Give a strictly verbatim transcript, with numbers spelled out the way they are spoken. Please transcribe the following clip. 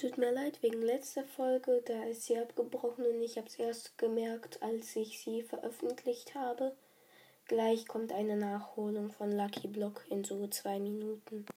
Tut mir leid wegen letzter Folge, da ist sie abgebrochen und ich habe es erst gemerkt, als ich sie veröffentlicht habe. Gleich kommt eine Nachholung von Lucky Block in so zwei Minuten.